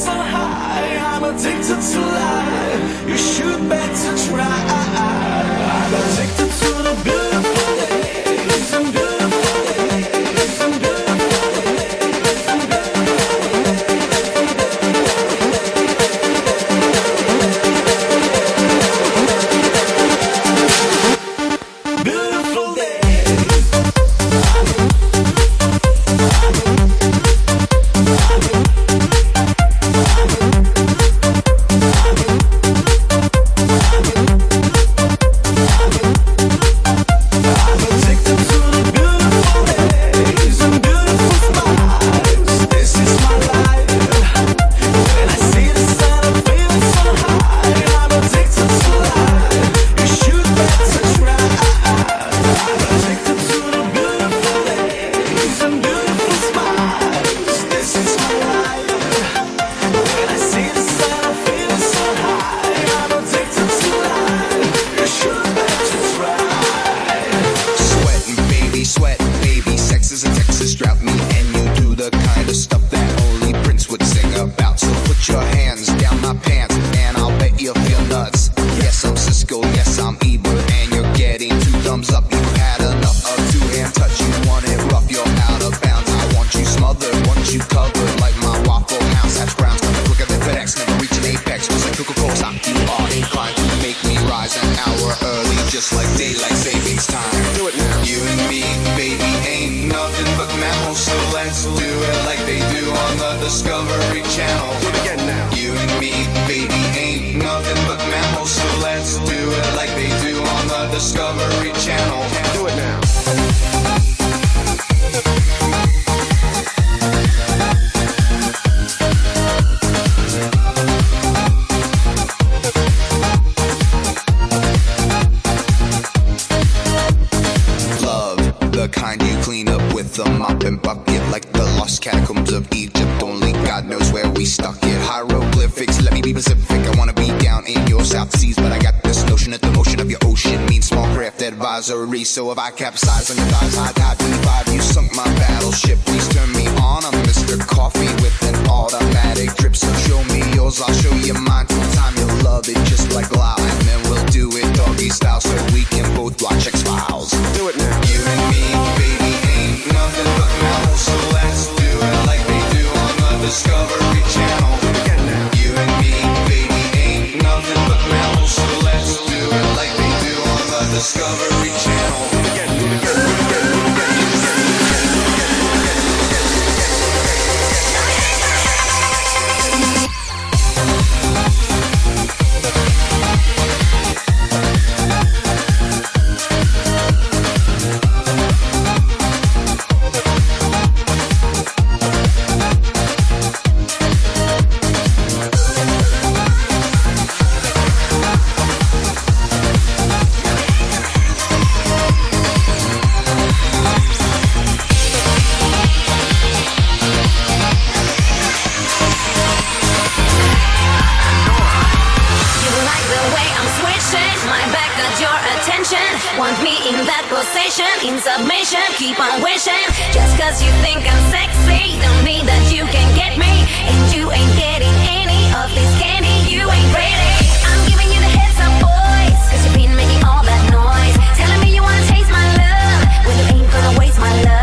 so high. I'm addicted to life. You should better try. I'm addicted to the beautiful days and beautiful days and beautiful days and beautiful days. So if I capsize on your thighs, high tide 25, you sunk my battleship. Please turn me on. I'm Mr. Coffee with an automatic drip. So show me yours, I'll show you mine. Full time you'll love it just like loud. And then we'll do it doggy style so we can both watch X-Files. Do it now. You and me, baby, ain't nothing but mammals. So let's do it like they do on the Discovery Channel. Again now. You and me, baby, ain't nothing but mammals. So let's do it like they do on the Discovery Channel. In submission, keep on wishing. Just cause you think I'm sexy don't mean that you can get me. And you ain't getting any of this candy. You ain't ready. I'm giving you the heads up, boys, cause you've been making all that noise, telling me you wanna taste my love when you ain't gonna waste my love.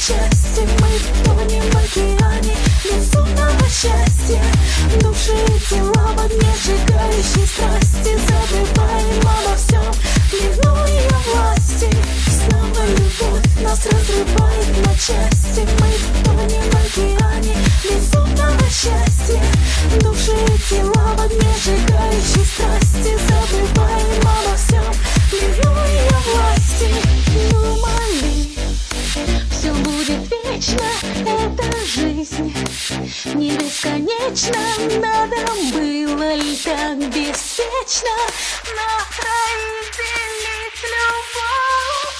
счастье. Мы тонем в океане безумного счастья. Души и тела в огне сжигающей страсти. Забываем обо всем, плену ее власти. Снова любовь нас разрывает на части. Мы тонем в океане безумного счастья. Души и тела в огне сжигающей страсти. Забываем обо всем, плену ее власти. Думали, все будет вечно, эта жизнь не бесконечна. Надо было ли так беспечно на троих делить любовь?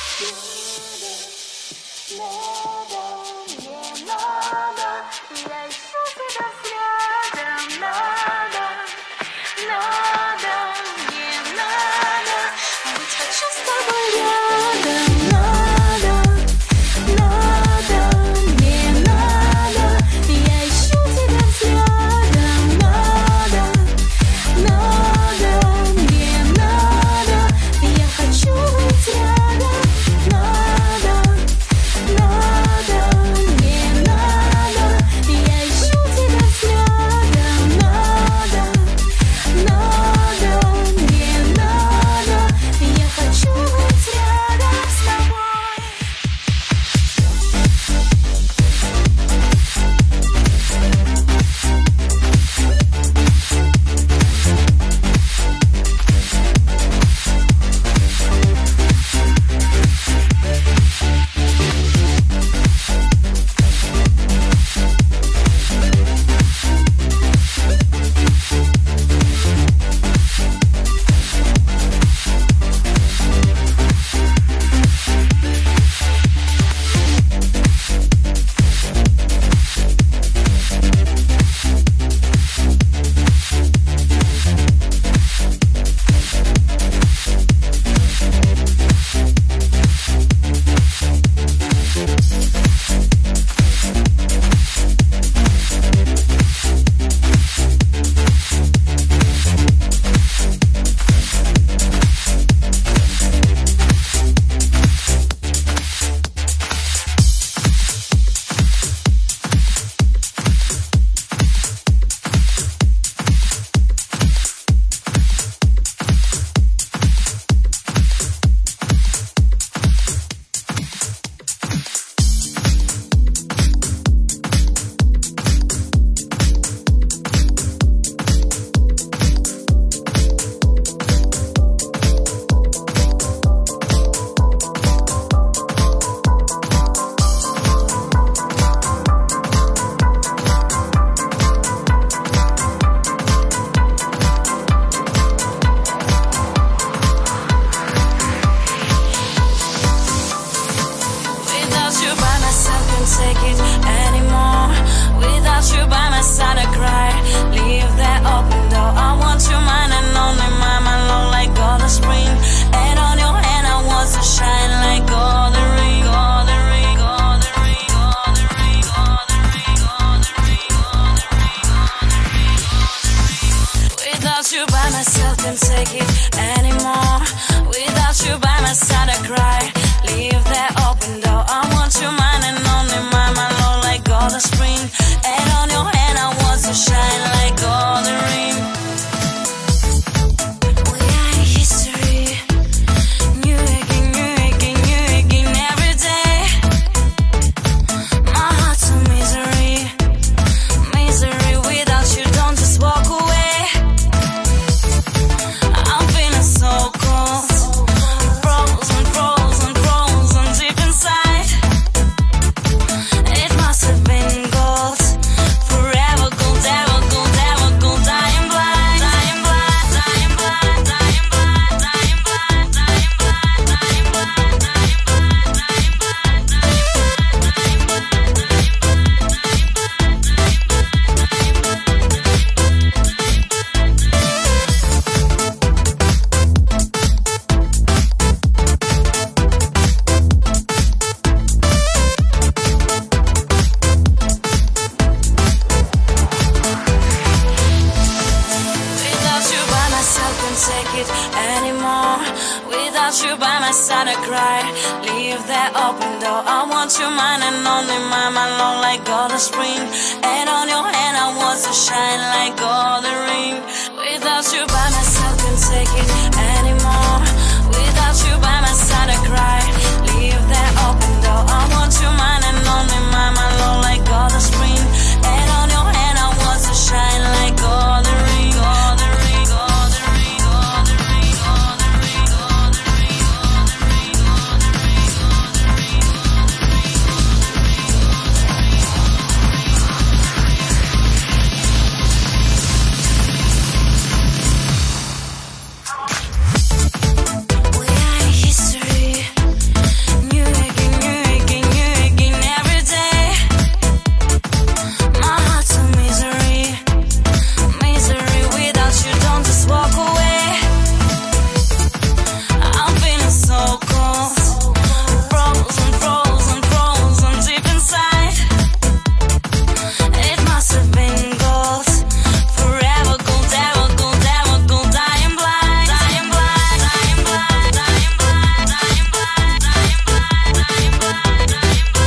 Не надо, я ищу тебя взглядом. Надо, не надо, быть хочу с тобой рядом. Надо, не надо, я ищу тебя взглядом. Надо, не надо, я хочу быть рядом. Надо, не надо, я ищу тебя взглядом. Надо, не надо, я хочу быть рядом с тобой. Without you by myself, can't take it anymore. Without you by my side, I cry. Leave that open door. I want you mine and only mine, my lonely. cry. Leave that open door. I want your mind and only mine, my love like golden spring. And on your hand I want to shine like golden ring. Without you by my side, can't take it anymore. Without you by my side, I cry. Leave that open door. I want your mind and only mine, my love like golden spring. And on your hand I want to shine like golden ring, golden ring, golden ring, golden ring, golden ring, golden ring, golden ring, golden ring, golden ring, we are history. New again, new again, new again every day. My heart's a misery, misery. Without you, don't just walk away. I'm feeling so cold, frozen, frozen, frozen deep inside. It must have been gold, forever gold, ever gold, ever gold. Dying blind, dying blind, dying blind, dying blind, dying blind, dying blind, dying blind, dying blind,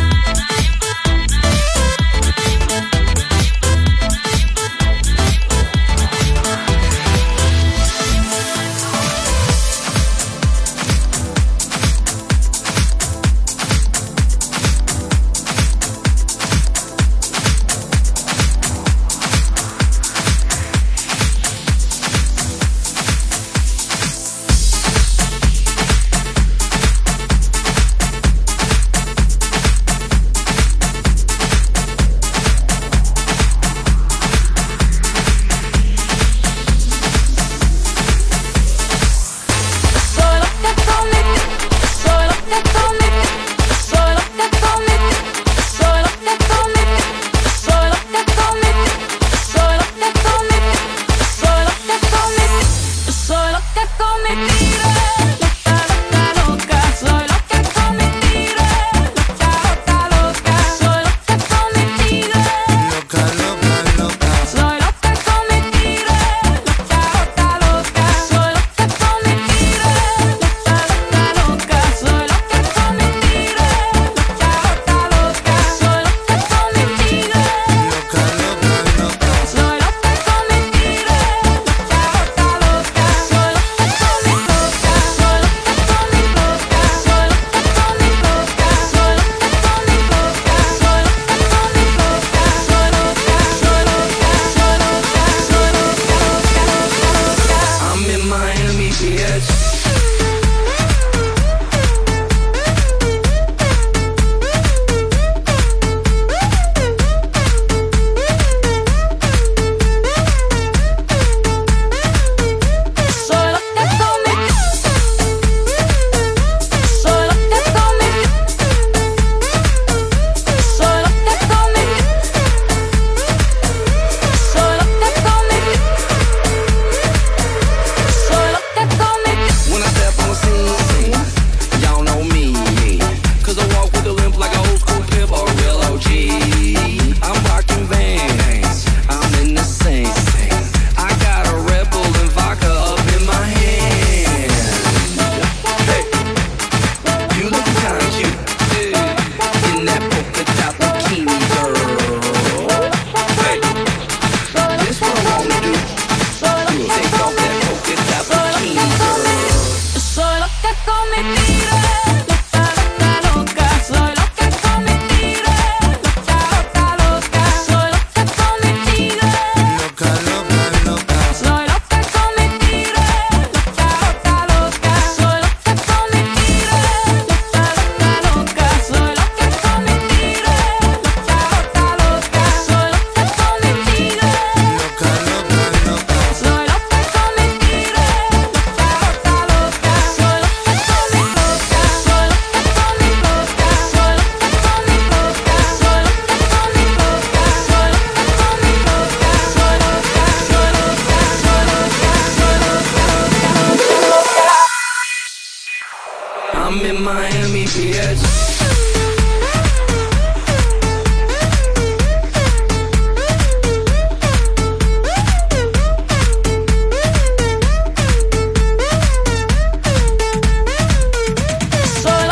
I'm in Miami, bitch. Solo te come, solo te come, solo te come, solo te come, solo te come. When I step on the scene, y'all know me. Cause I walk with a limp like an old school pimp or a real OG. I'm rocking Vans, I'm in the same. I got a Red Bull and vodka up in my hand. Hey, you look kinda cute in that polka dot bikini, girl. Hey, this what I wanna do. Take off that polka dot bikini, girl. Soy lo que come tira, loca, loca, loca. Soy lo que come tira, loca, loca, loca. Soy lo que come tira, Loca, loca, loca. soy lo que come tira, loca, loca, loca. Soy lo que come tira, loca, loca, loca. Soy lo que come tira, loca, loca, loca. Soy lo que come tira, Loca, loca, loca. soy lo que come tira, loca, loca, loca. Soy lo que come loca, soy lo que come loca, soy lo que come loca, soy lo que come loca, soy lo que come loca, soy loca, soy loca, soy loca, soy loca. I'm in Miami, bitch. Soy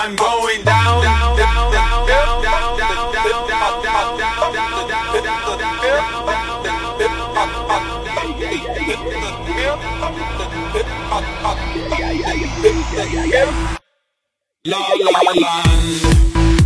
I'm going down, down, down, down, down, down, down, down, down, down, down, La La Land.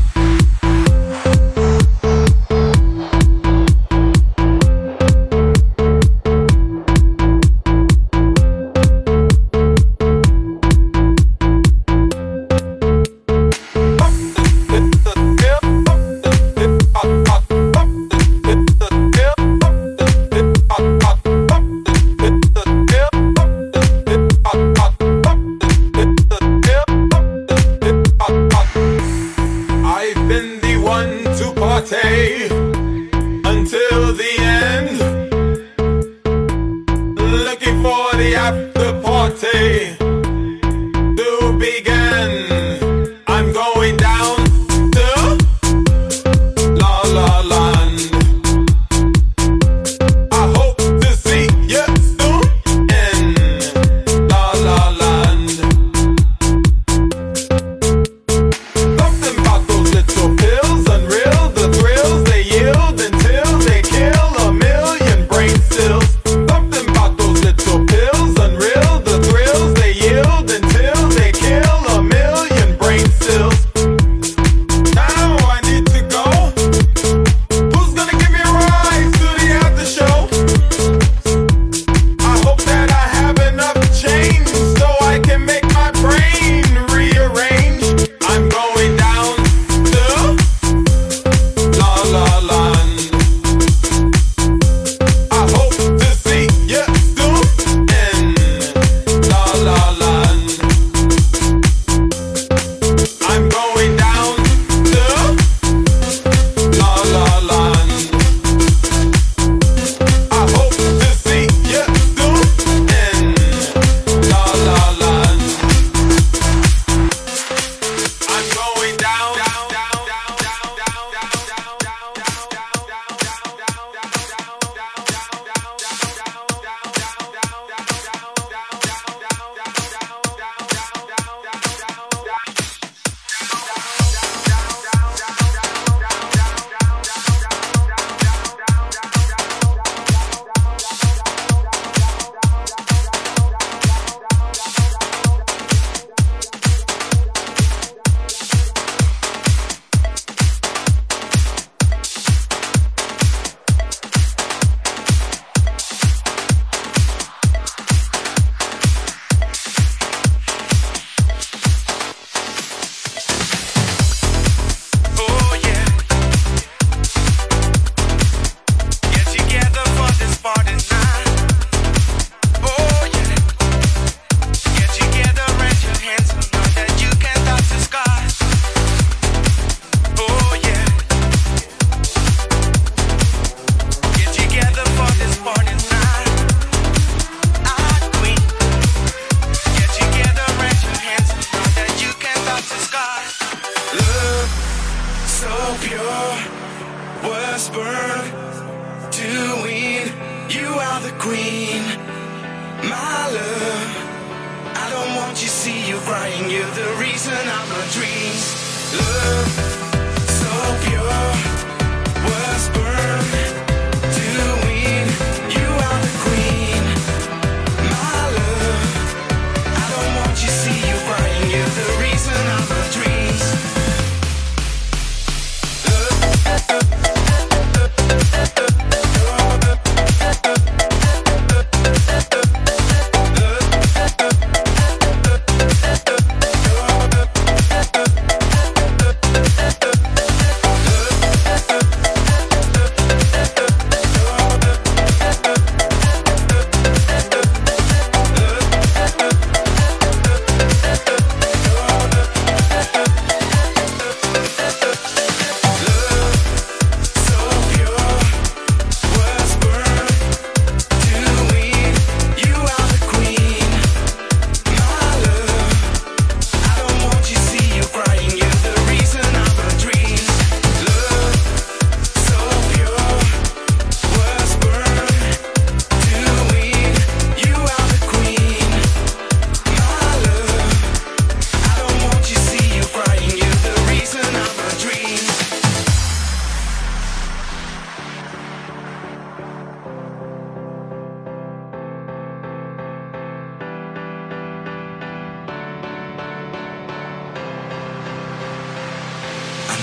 Until the end, looking for the after party to begin. I'm going down to La La Land. I hope to see you soon in La La Land. Something about those little pills, unreal, the thrills they yield until they kill a million brain cells. Something about those little pills, unreal, the thrills they yield until they kill a million brain cells. Now I need to go. Who's gonna give me a ride to the after show? I hope that I have enough change so I can make my brain rearrange. I'm going down to La La Land. I hope to see you soon in La La Land. I'm going down to La La Land. I hope to see you soon in La La Land. I'm going down, down, down, down, down, down, down, down, Oh yeah, get together for this party night. Oh yeah, get together, raise your hands so loud that you can touch the sky. Oh yeah, get together for this party night. Ah, queen, get together, raise your hands so loud that you can touch the sky. Love so pure, whisper doing. You are the queen, my love. I don't want you see you crying. You're the reason of my dreams. Love so pure, whisper doing. You are the queen, my love. I don't want you see you crying. You're the reason of my dreams.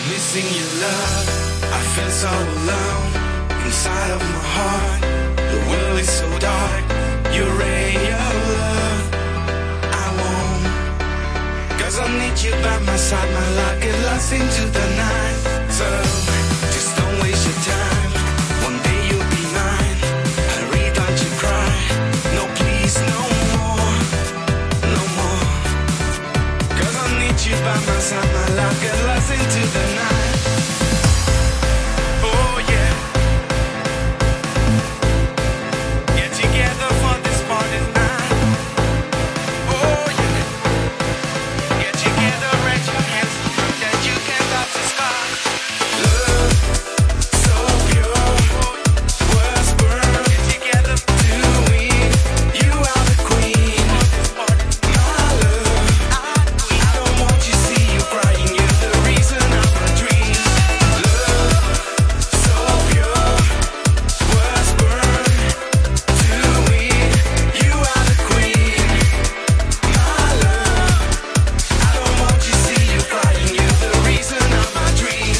Missing your love, I feel so alone inside of my heart. The world is so dark, you rain your love. I won't, 'cause I need you by my side. My life get lost into the night. So just don't waste your time. One day you'll be mine. Hurry, don't you cry. No, please, no more, no more. 'Cause I need you by my side. My life get lost into the night. Oh yeah. Get together for this party night. Oh yeah. Get together, raise your hands, that you can touch the sky. Love, so pure, was born. Get together to win. You are the queen, my love. I don't want you see you crying. You're the reason of my dreams. Love, so pure, was born to win. You are the queen, my love. I don't want you see you crying. You're the reason of my dreams.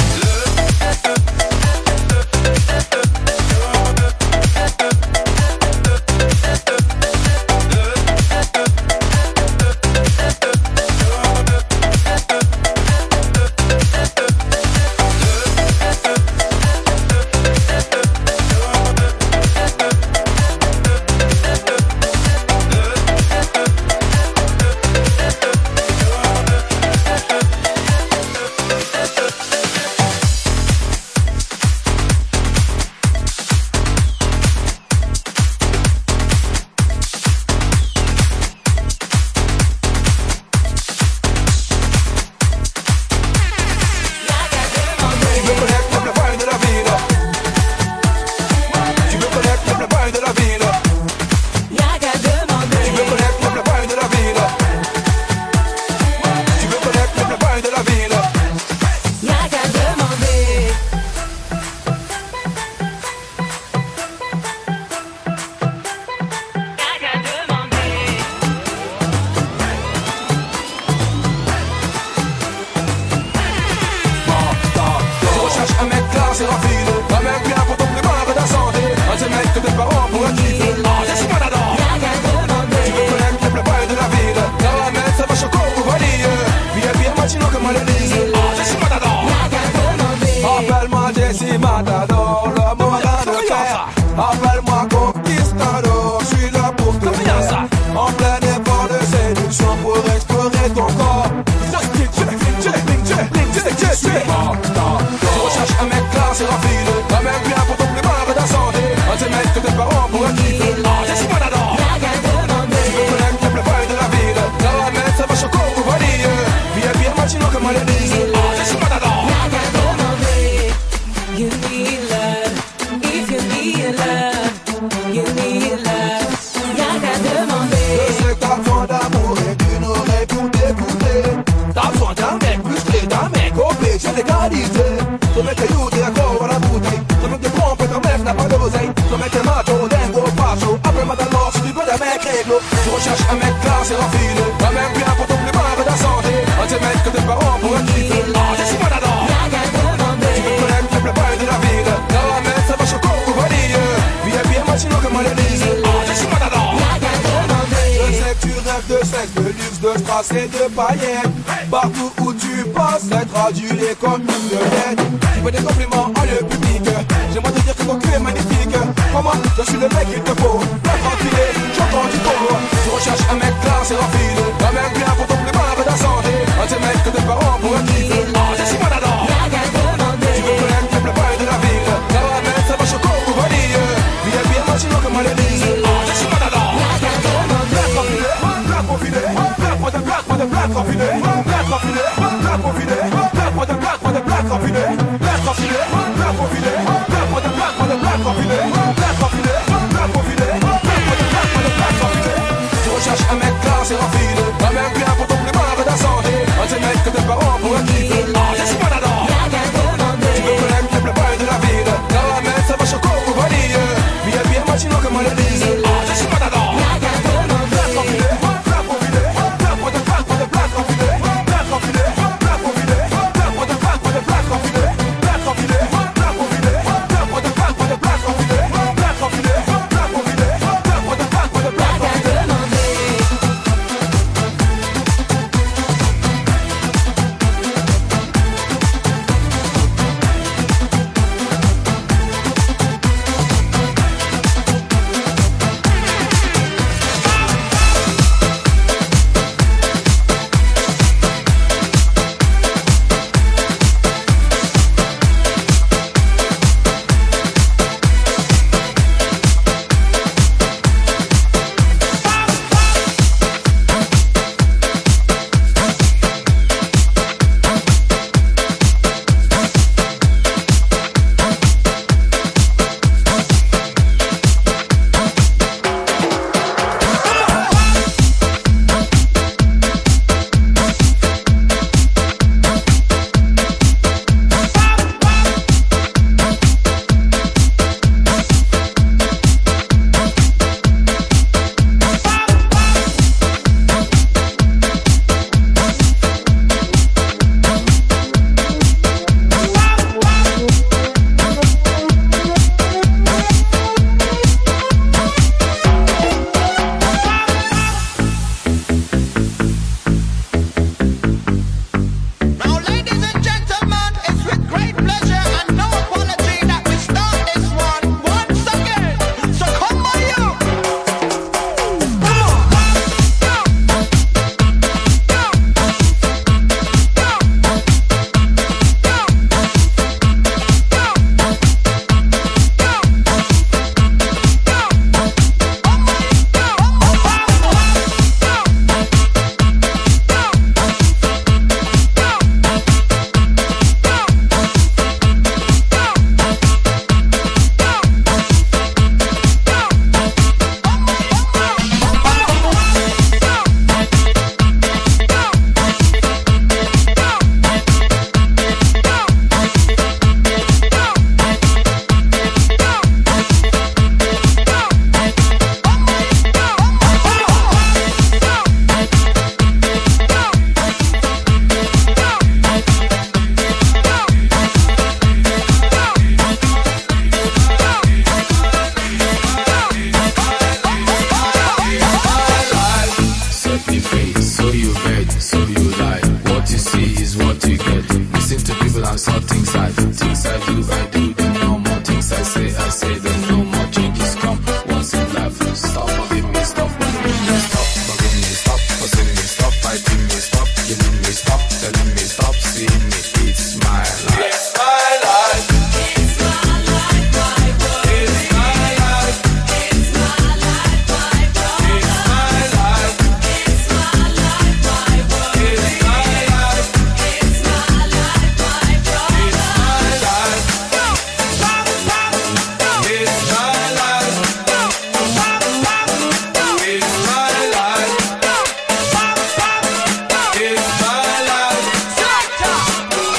Et de paillettes, partout où tu passes, être adulé comme une vedette. Tu veux des compliments en le public, j'aimerais te dire que ton cul est magnifique. Comment je suis le mec qu'il te faut, bien tranquille, j'entends du pauvre. Tu recherches un mec classe et raffiné, un mec bien pour ton climat et ta santé. Un de ces mecs que tes parents pourraient kiffer. Ah, je suis pas là-dedans. Tu veux connaître le plein de la ville, caramel, ça va choco ou vanille. Bien bien machinant comme on le dit. Ah, je suis pas là-dedans. Black raffiné, black raffiné. Black raffiné, black raffiné, black raffiné, black for the black for the black raffiné, black raffiné, black raffiné, black for the black for the black raffiné, black raffiné, black raffiné, black for the black for the black raffiné. Tu recherches un mec classe et raffiné, un mec bien pour ton climat et ta santé, un de ces mecs que tes parents pourraient kiffer. Ah, je suis pas là-dedans. Tu veux connaître le plein de la ville, caramel, ça va choco ou vanille, bien bien machinant comme on le dit. Ah, je suis pas là-dedans. Black raffiné, black raffiné, black for the black for the black raffiné, black raffiné, black raffiné, black for the black for the what you get. Listen to people and saw things I do, then no more things I say, then no more changes come once in life. Stop forgiving me, stop forgiving me, stop forgiving me, stop forcing me, stop fighting me, stop killing me, stop telling me, stop seeing me. It's my life. It's my life. It's my life, my world. It's my life. It's my life, my world. It's my life. It's my life, my world. It's my life. It's my life, my world. It's my life. It's my life. It's my life. It's my life.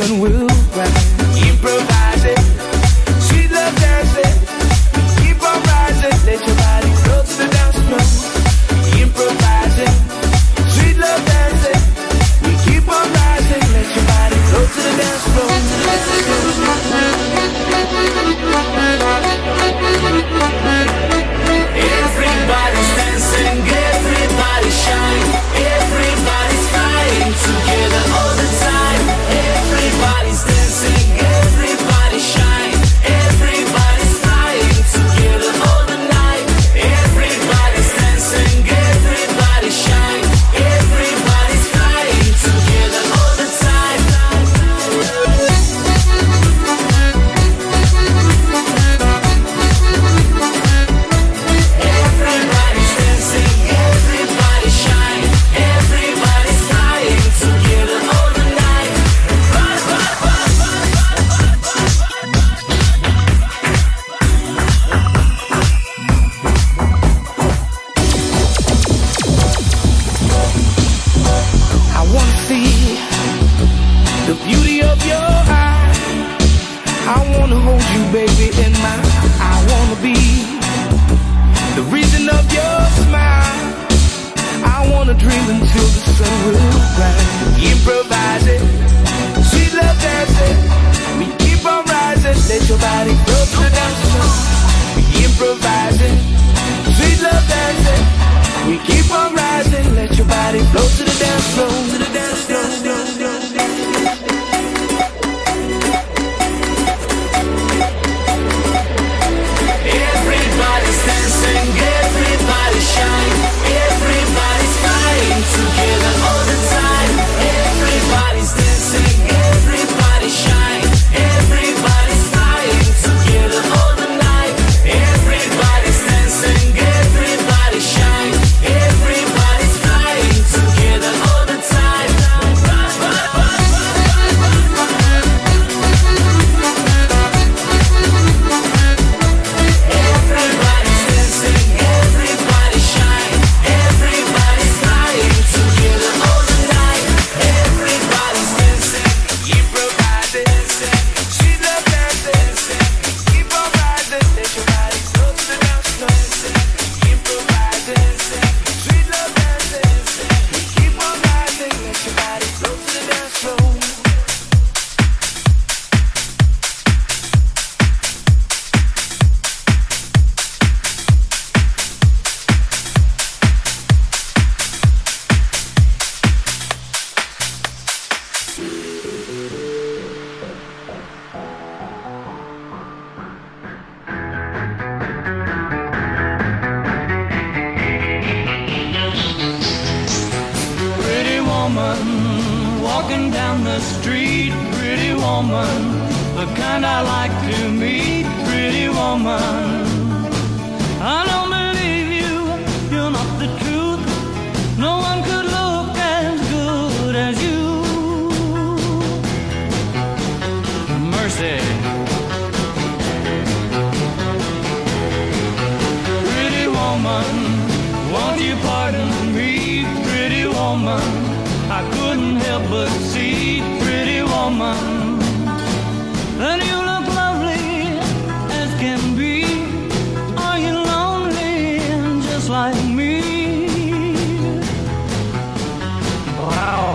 sun will rise. Improvising, sweet love dancing. Keep on rising, let your body flow to the dance floor. Improvising, sweet love dancing. We keep on rising, let your body flow to the dance floor. Everybody's dancing, everybody shine, everybody's flying together all the time. Everybody's dancing, everybody shine, everybody's flying together all the night. Everybody's dancing, everybody shine, everybody's flying together all the time. Everybody's dancing, everybody shine, everybody's flying together all the night. I wanna see the beauty of your eyes. I wanna hold you, baby, in my. I wanna be the reason of your smile. I wanna dream until the sun will rise. Improvising, sweet love dancing. We keep on rising, let your body flow to the dance floor. Improvising, sweet love dancing. We keep on rising, let your body flow to the dance floor. To the dance floor. Everybody's dancing, everybody shine, everybody's flying together all the time. Everybody's dancing, everybody shine, everybody's flying together all the night. Everybody's dancing, everybody shine, everybody's flying together all the time. Everybody's dancing, everybody shine, everybody's flying together all the night. Everybody's dancing, improvising, sweet love dancing. Keep on rising, let your body flow to the dance floor. Improvising, sweet love dancing. Keep on rising, let your body flow to the dance floor. Pretty woman, walking down the street. Pretty woman, the kind I like to meet. Pretty woman, I don't believe you, you're not the truth. No one could look as good as you. Mercy. Pretty woman, won't you pardon me? Pretty woman, I couldn't help but see. Pretty woman, and you look lovely as can be. Are you lonely just like me? Wow.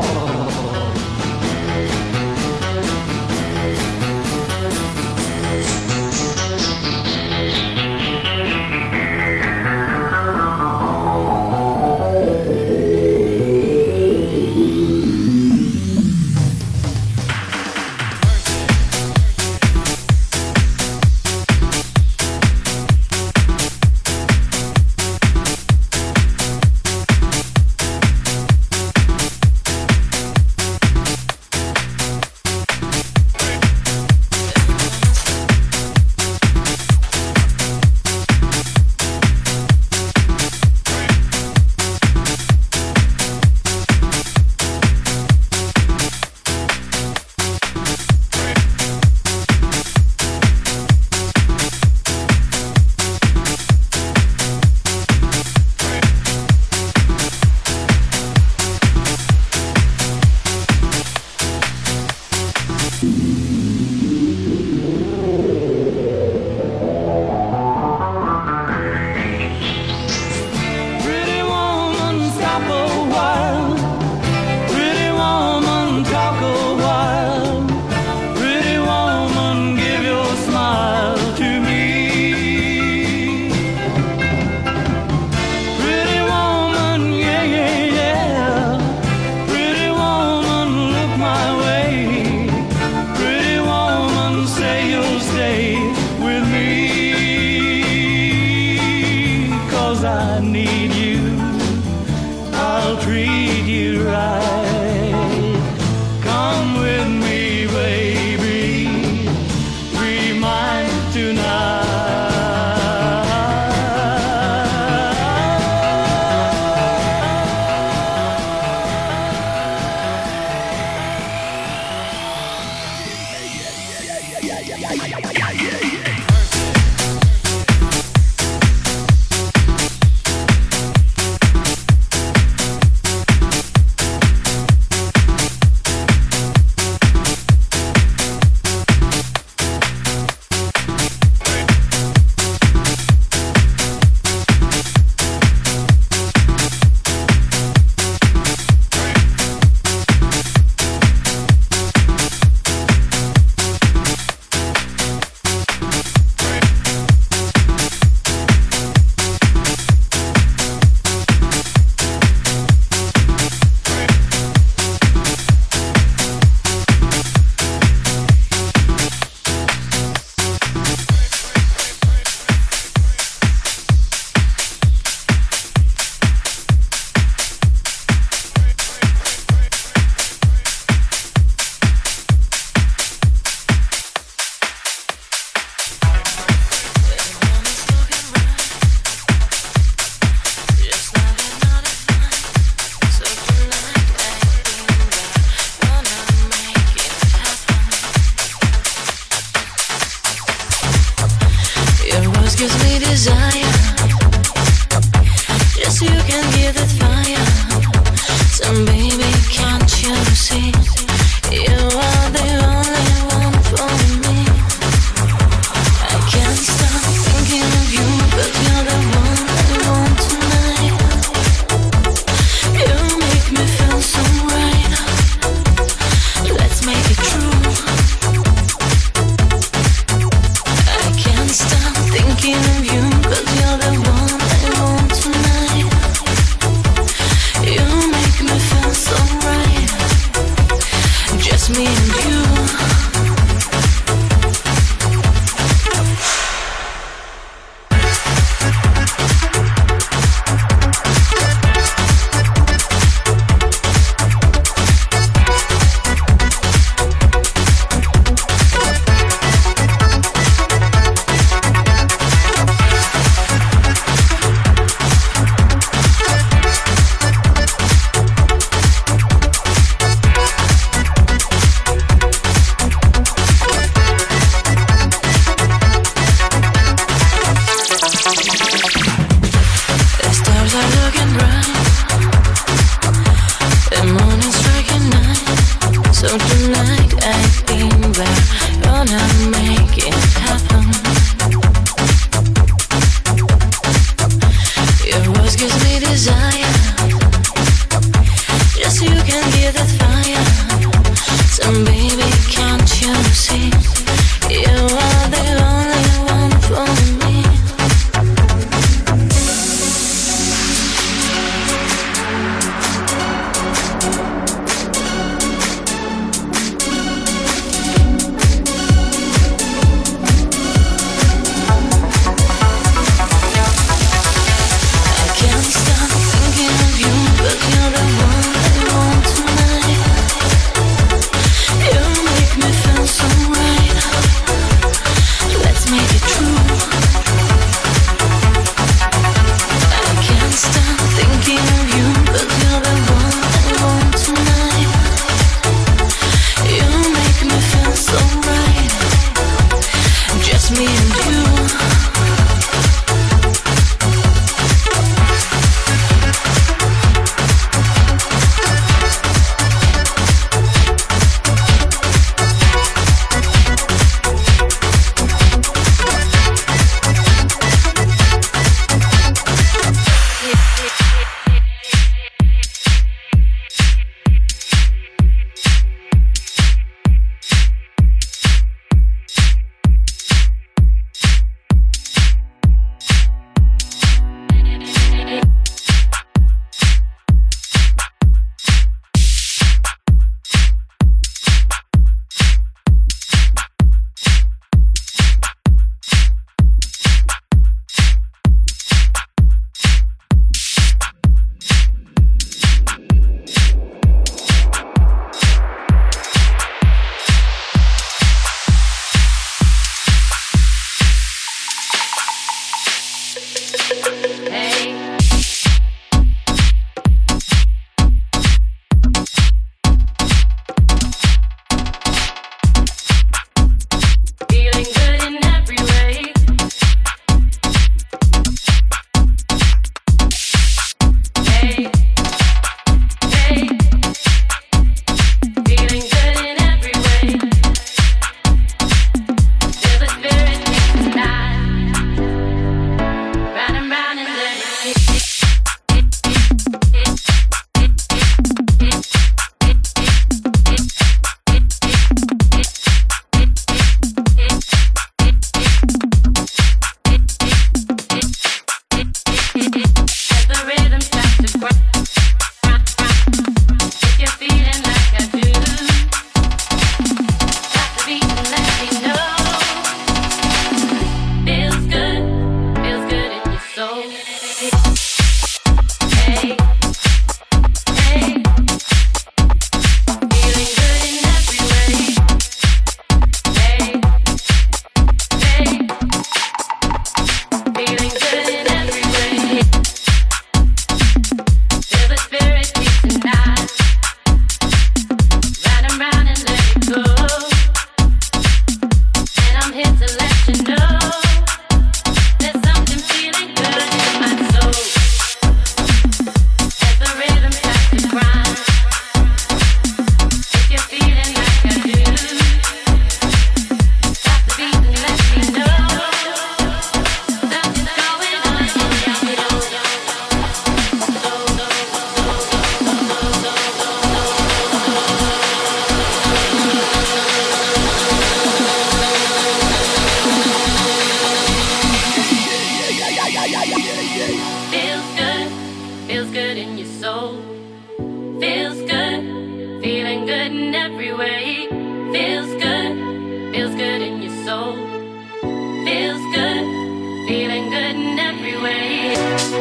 every way. Feels good in your soul. Feels good, feeling good in every way.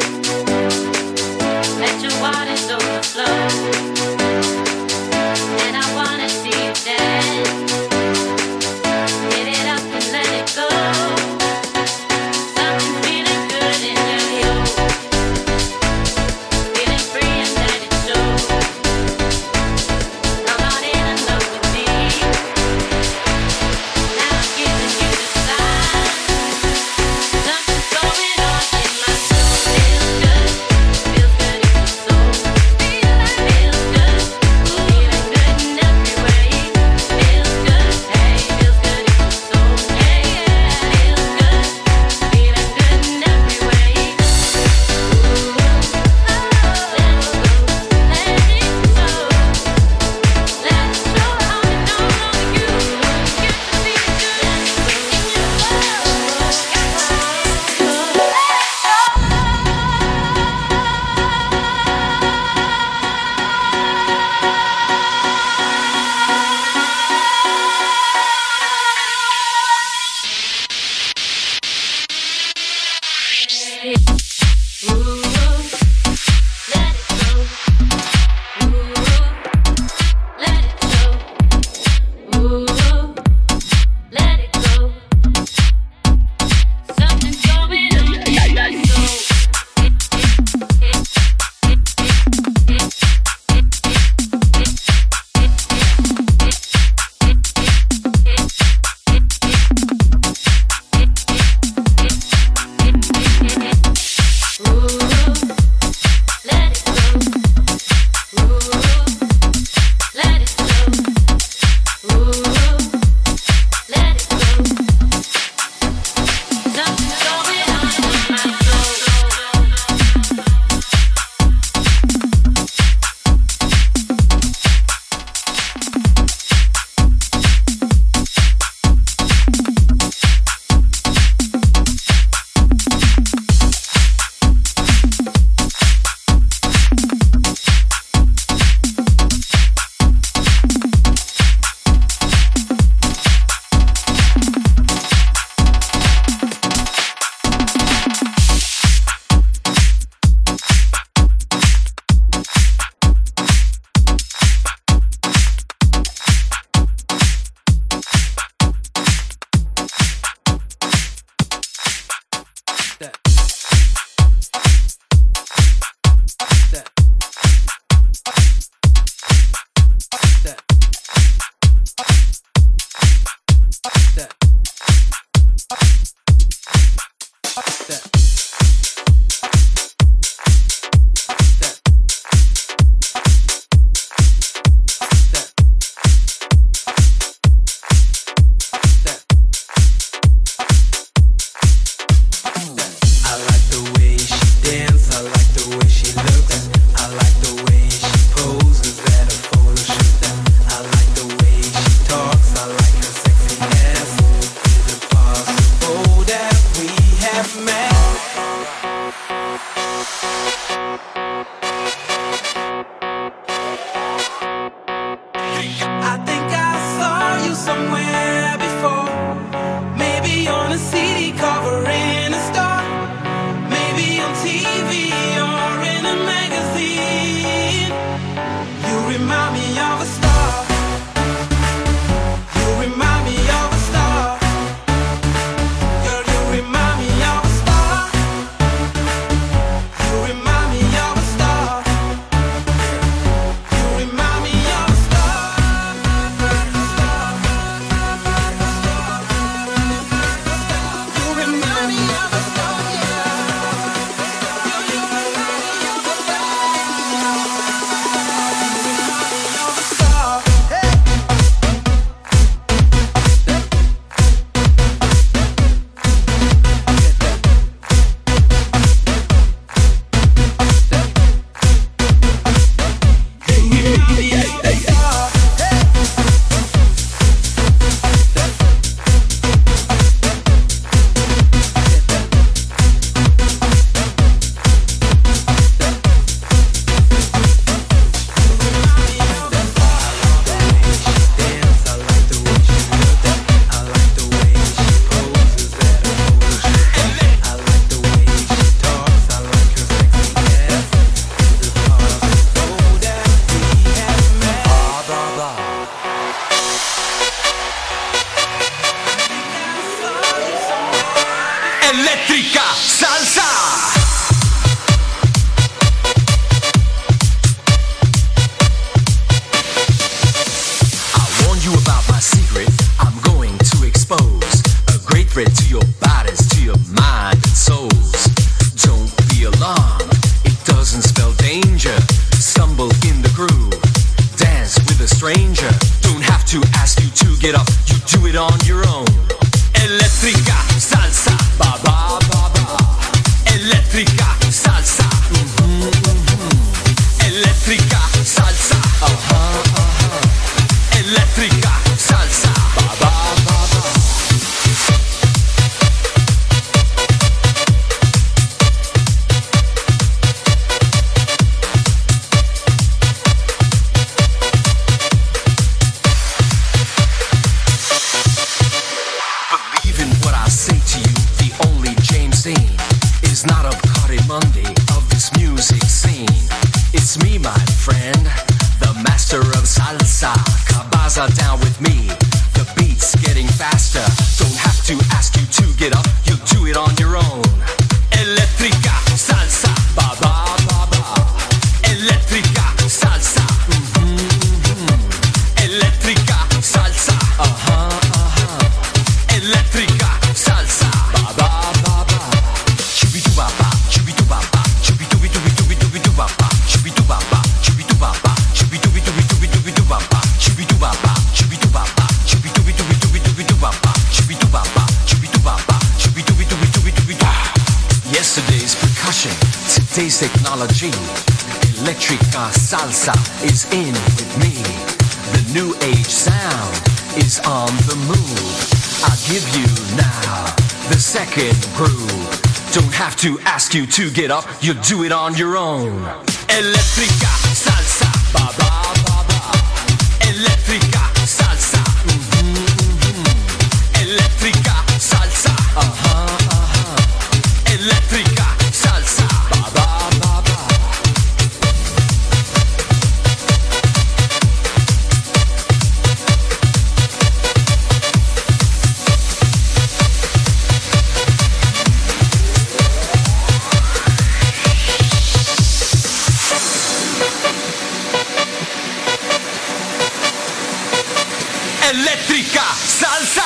Let your waters overflow, and I wanna see you dance. Get it up and let it go. Something feeling good in your soul. Feeling free and let it show. Come on in and love with me. Now I'm giving you the sign. Something's going on in my soul. Feels good in your soul. Feels good, feeling good in every way. Feels good, hey, feels good in your soul. Hey, yeah, feels good, feeling good in every way. Ooh, let it go, let it show. Let's show how we know you get to feel good in your Eléctrica salsa. You about my secret, I'm going to expose a great threat to your bodies, to your mind and souls. Don't be alarmed, it doesn't spell danger. Stumble in the groove, dance with a stranger. Don't have to ask you to get up, you do it on your own. Eléctrica salsa, ba ba ba ba. Eléctrica salsa, Eléctrica salsa, Eléctrica salsa, ba ba ba ba. Believe in what I say to you. The only James Dean is not of Cardimundi, of this music scene. It's me, my friend, the master of salsa. Cabaza down with me, the beat's getting faster. Don't have to ask you to get up, you'll do it on your own. Eléctrica salsa, ba ba ba ba. Eléctrica salsa, Eléctrica salsa, Eléctrica salsa, ba ba ba ba. Chubidu ba ba, chubidu ba ba, chubidu bi du bi du bi du bi du ba ba, chubidu ba ba, chubidu ba ba, chubidu bi du bi du bi du bi du ba ba, chubidu ba ba, chubidu ba ba, chubidu bi du bi du bi du bi du ba ba, chubidu ba ba, chubidu ba ba, chubidu bi du bi du bi du bi du. Yesterday's percussion, today's technology. Eléctrica salsa is in with me. The new age sound is on the move. I give you now the second groove. Don't have to ask you to get up, you do it on your own. Eléctrica salsa, ba ba ba ba. Eléctrica salsa, Eléctrica salsa, Eléctrica salsa, ba ba ba ba. Eléctrica salsa.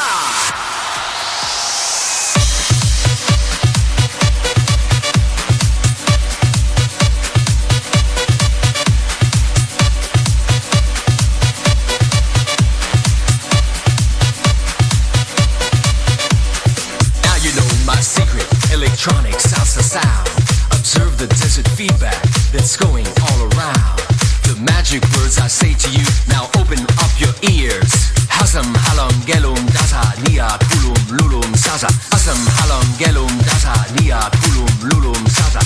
Now you know my secret, electronic salsa sound. Observe the desert feedback that's going all around. The magic words I say to you, now open up your ears. Hasam halam gelum dasa nia kulum lulum sasa. Hasam halam gelum dasa nia kulum lulum sasa.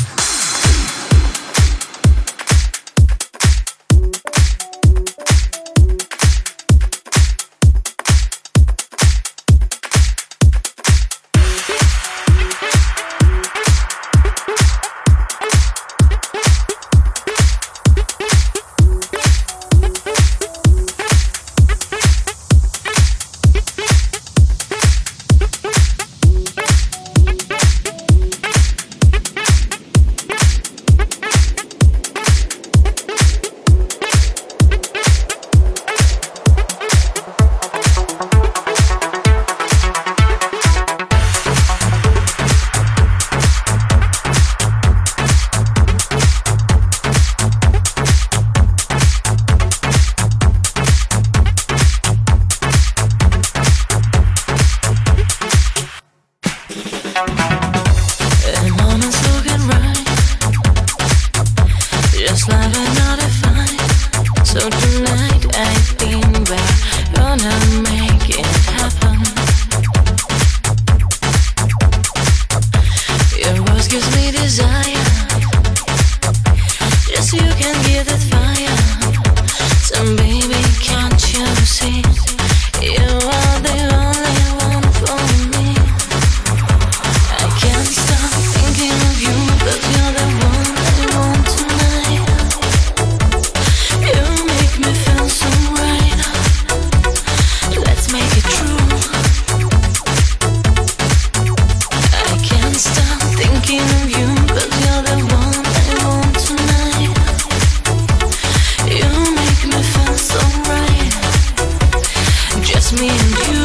just me and you.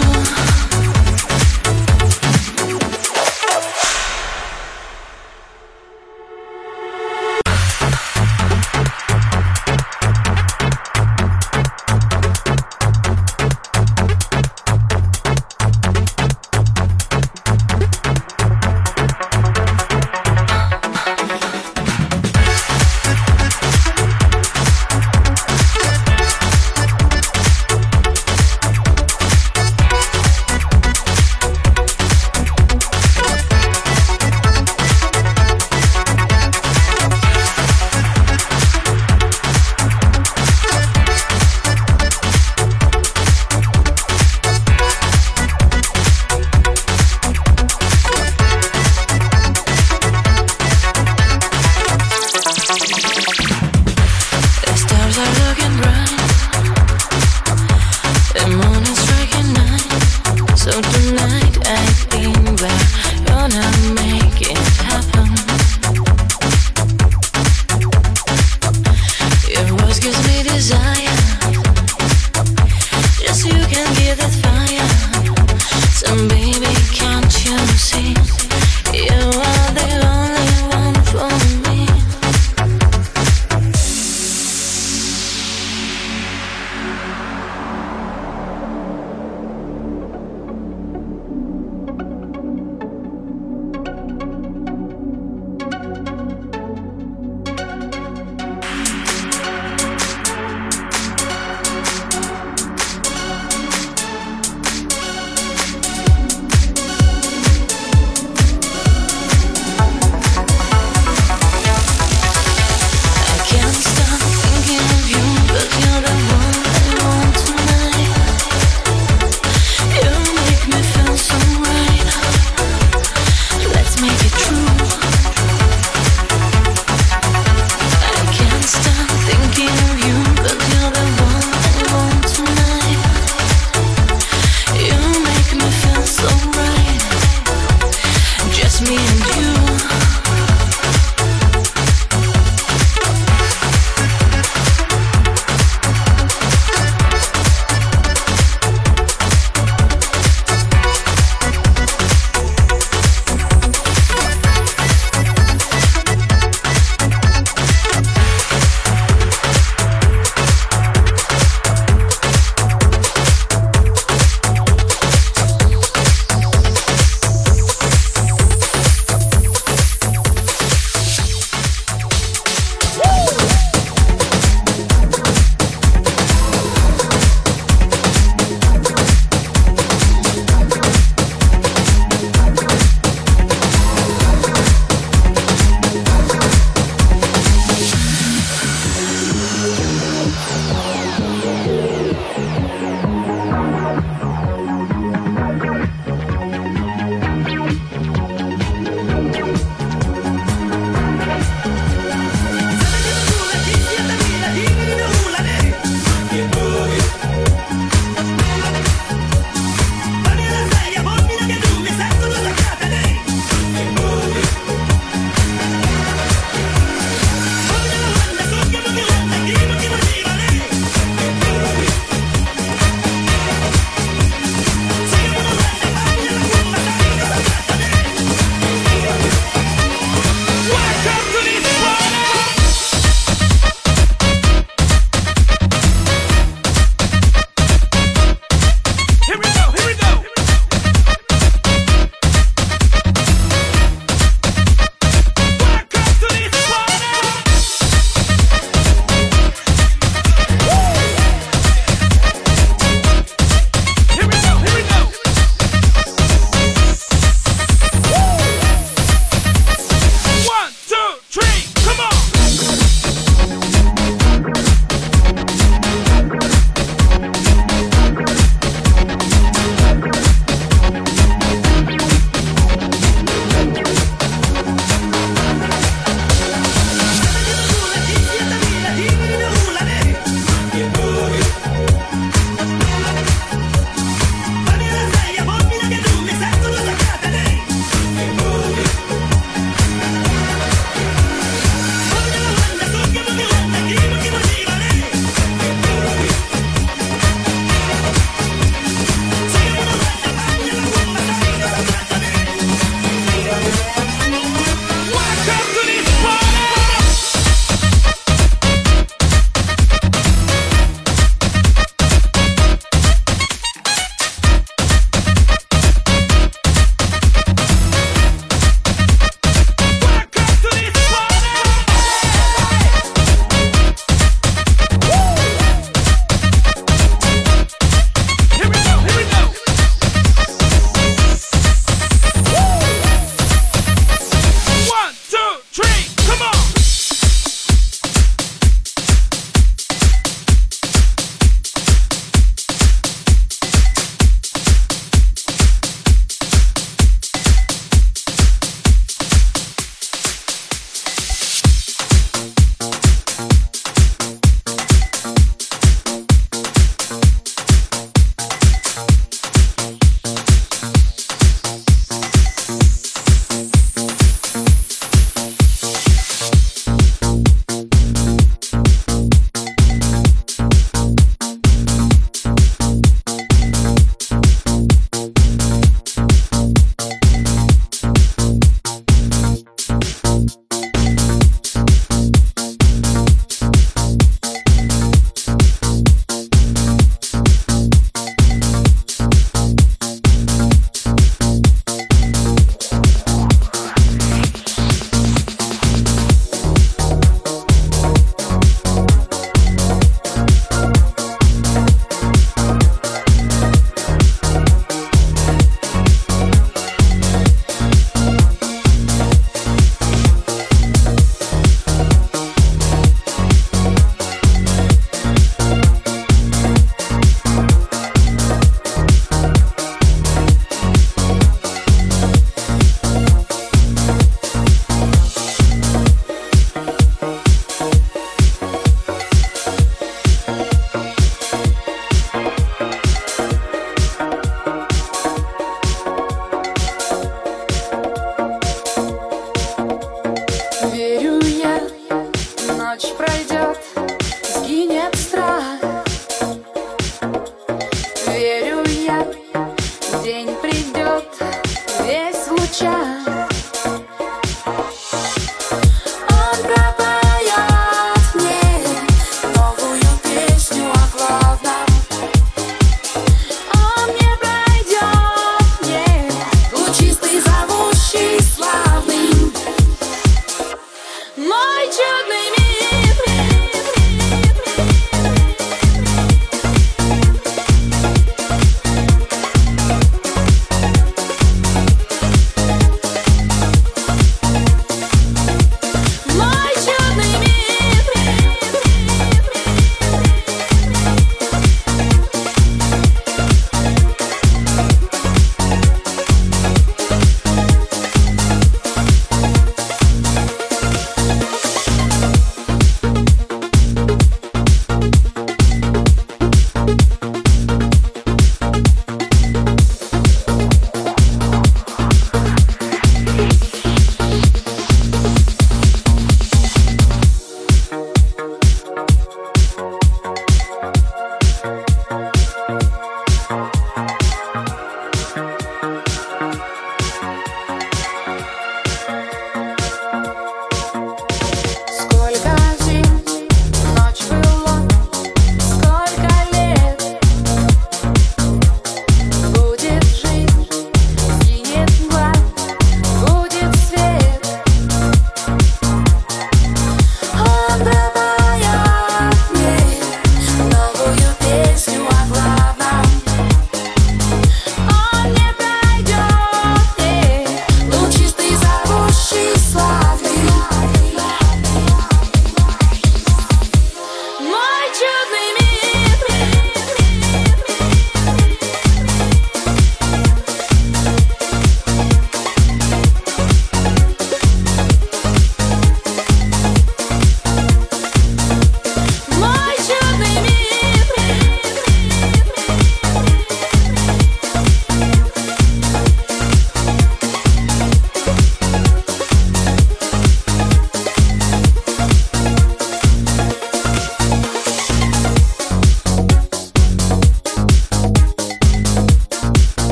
Desire, just you can give that